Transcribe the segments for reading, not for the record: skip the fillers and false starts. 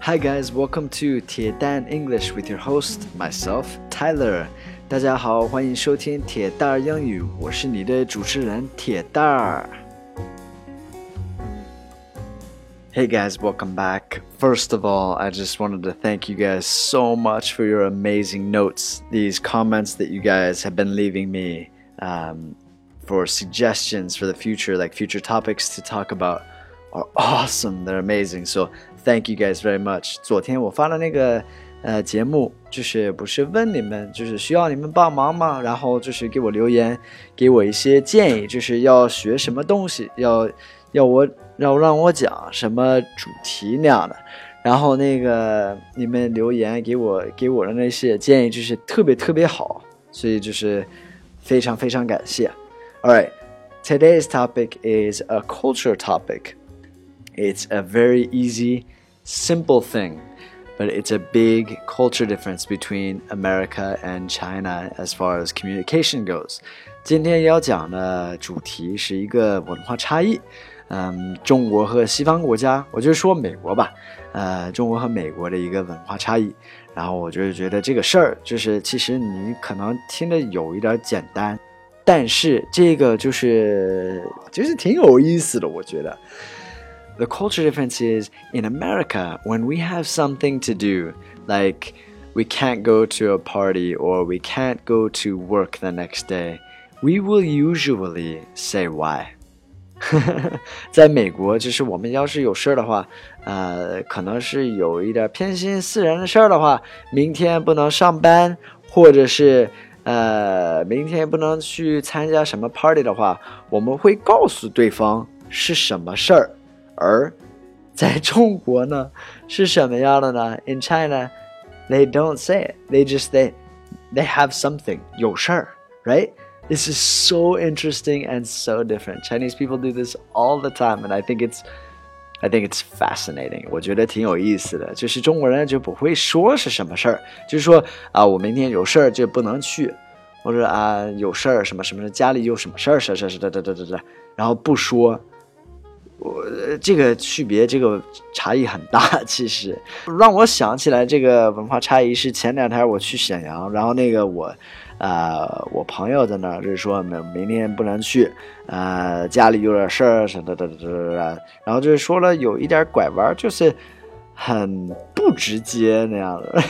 Hi guys, welcome to 铁蛋 English with your host, myself, Tyler. 大家好，欢迎收听铁蛋儿英语，我是你的主持人铁蛋儿。Hey guys, welcome back. First of all, I just wanted to thank you guys so much for your amazing notes. These comments that you guys have been leaving me for suggestions for the future, like future topics to talk about, are awesome. They're amazing. So thank you guys very much. 昨天我发了那个节目，就是不是问你们，就是需要你们帮忙吗？然后就是给我留言，给我一些建议，就是要学什么东西，要让我讲什么主题那样的。然后那个你们留言给我的那些建议就是特别好，所以就是非常感谢。Alright, today's topic is a culture topic. It's a very easy, simple thing, but it's a big culture difference between America and China as far as communication goes. 今天要讲的主题是一个文化差异。中国和西方国家，我就说美国吧，中国和美国的一个文化差异。然后我就觉得这个事儿，就是其实你可能听着有一点简单，但是这个就是挺有意思的，我觉得。The culture difference is in America, when we have something to do, like we can't go to a party or we can't go to work the next day, we will usually say why. 在美国，就是我们要是有事的话，可能是有一点偏心私人的事的话，明天不能上班，或者是明天不能去参加什么 party 的话，我们会告诉对方是什么事儿。而在中国呢，是什么样的呢 ？In China, they don't say it. They have something 有事儿 right?This is so interesting and so different. Chinese people do this all the time, and I think it's fascinating. 我觉得挺有意思的，就是中国人就不会说是什么事儿，就是说我明天有事儿就不能去，或者有事儿什么家里有什么事儿，然后不说。这个区别，这个差异很大。其实让我想起来这个文化差异是前两天我去沈阳，然后那个我朋友在那儿就是说明天不能去，家里有点事儿什么的，然后就是说了有一点拐弯，就是很不直接那样的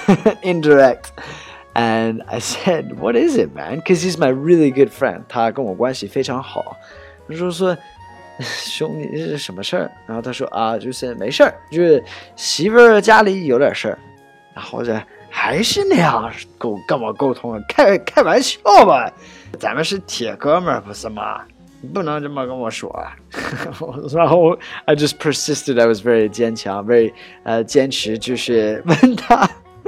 ，indirect。And I said, "What is it, man?" Because he's my really good friend. 他跟我关系非常好。我就说。兄弟，这是什么事儿？然后他说就是没事儿，就是媳妇儿家里有点事儿。然后还是那样跟我沟通，开玩笑吧，咱们是铁哥们儿不是吗？你不能这么跟我说。然后 I just persisted, I was very 坚强 very 坚持，就是问他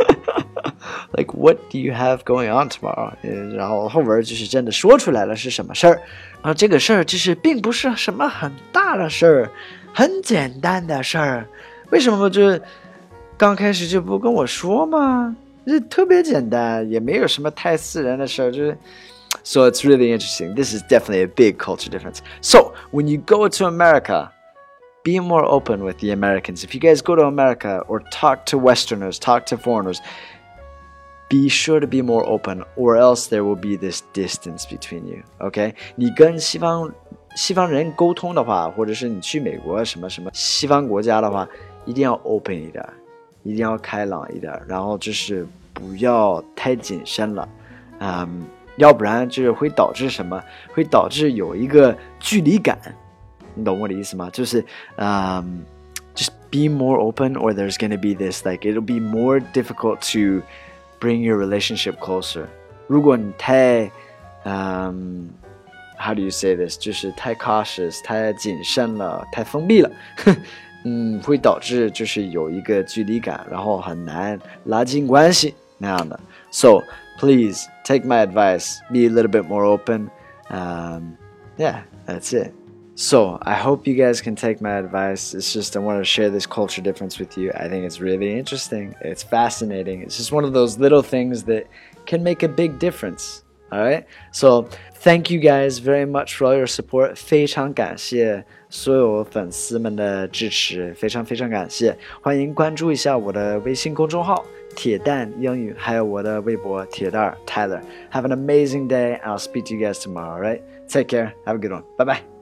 like what do you have going on tomorrow？ 然后后边就是真的说出来了是什么事儿。然后这个事儿其实并不是什么很大的事儿，很简单的事儿。为什么就刚开始就不跟我说吗？这特别简单，也没有什么太私人的事儿。So it's really interesting. This is definitely a big culture difference. So when you go to America, be more open with the Americans. If you guys go to America or talk to Westerners, talk to foreigners,Be sure to be more open, or else there will be this distance between you. OK? 你跟西方人沟通的话，或者是你去美国什么西方国家的话，一定要 open 一点，一定要开朗一点，然后就是不要太谨慎了，要不然就是会导致什么？会导致有一个距离感，你懂我的意思吗？就是just be more open, or there's going to be this like it'll be more difficult to.Bring your relationship closer. 如果你太how do you say this? 就是太 cautious, 太谨慎了，太封闭了，会导致就是有一个距离感，然后很难拉近关系那样的。So please take my advice, be a little bit more open. Yeah, that's it.So I hope you guys can take my advice. It's just I want to share this culture difference with you. I think it's really interesting. It's fascinating. It's just one of those little things that can make a big difference. Alright, so thank you guys very much for all your support. 非常感谢所有粉丝们的支持，非常非常感谢。欢迎关注一下我的微信公众号铁蛋英语，还有我的微博铁蛋 Tyler. Have an amazing day. I'll speak to you guys tomorrow. Alright, take care. Have a good one. Bye bye.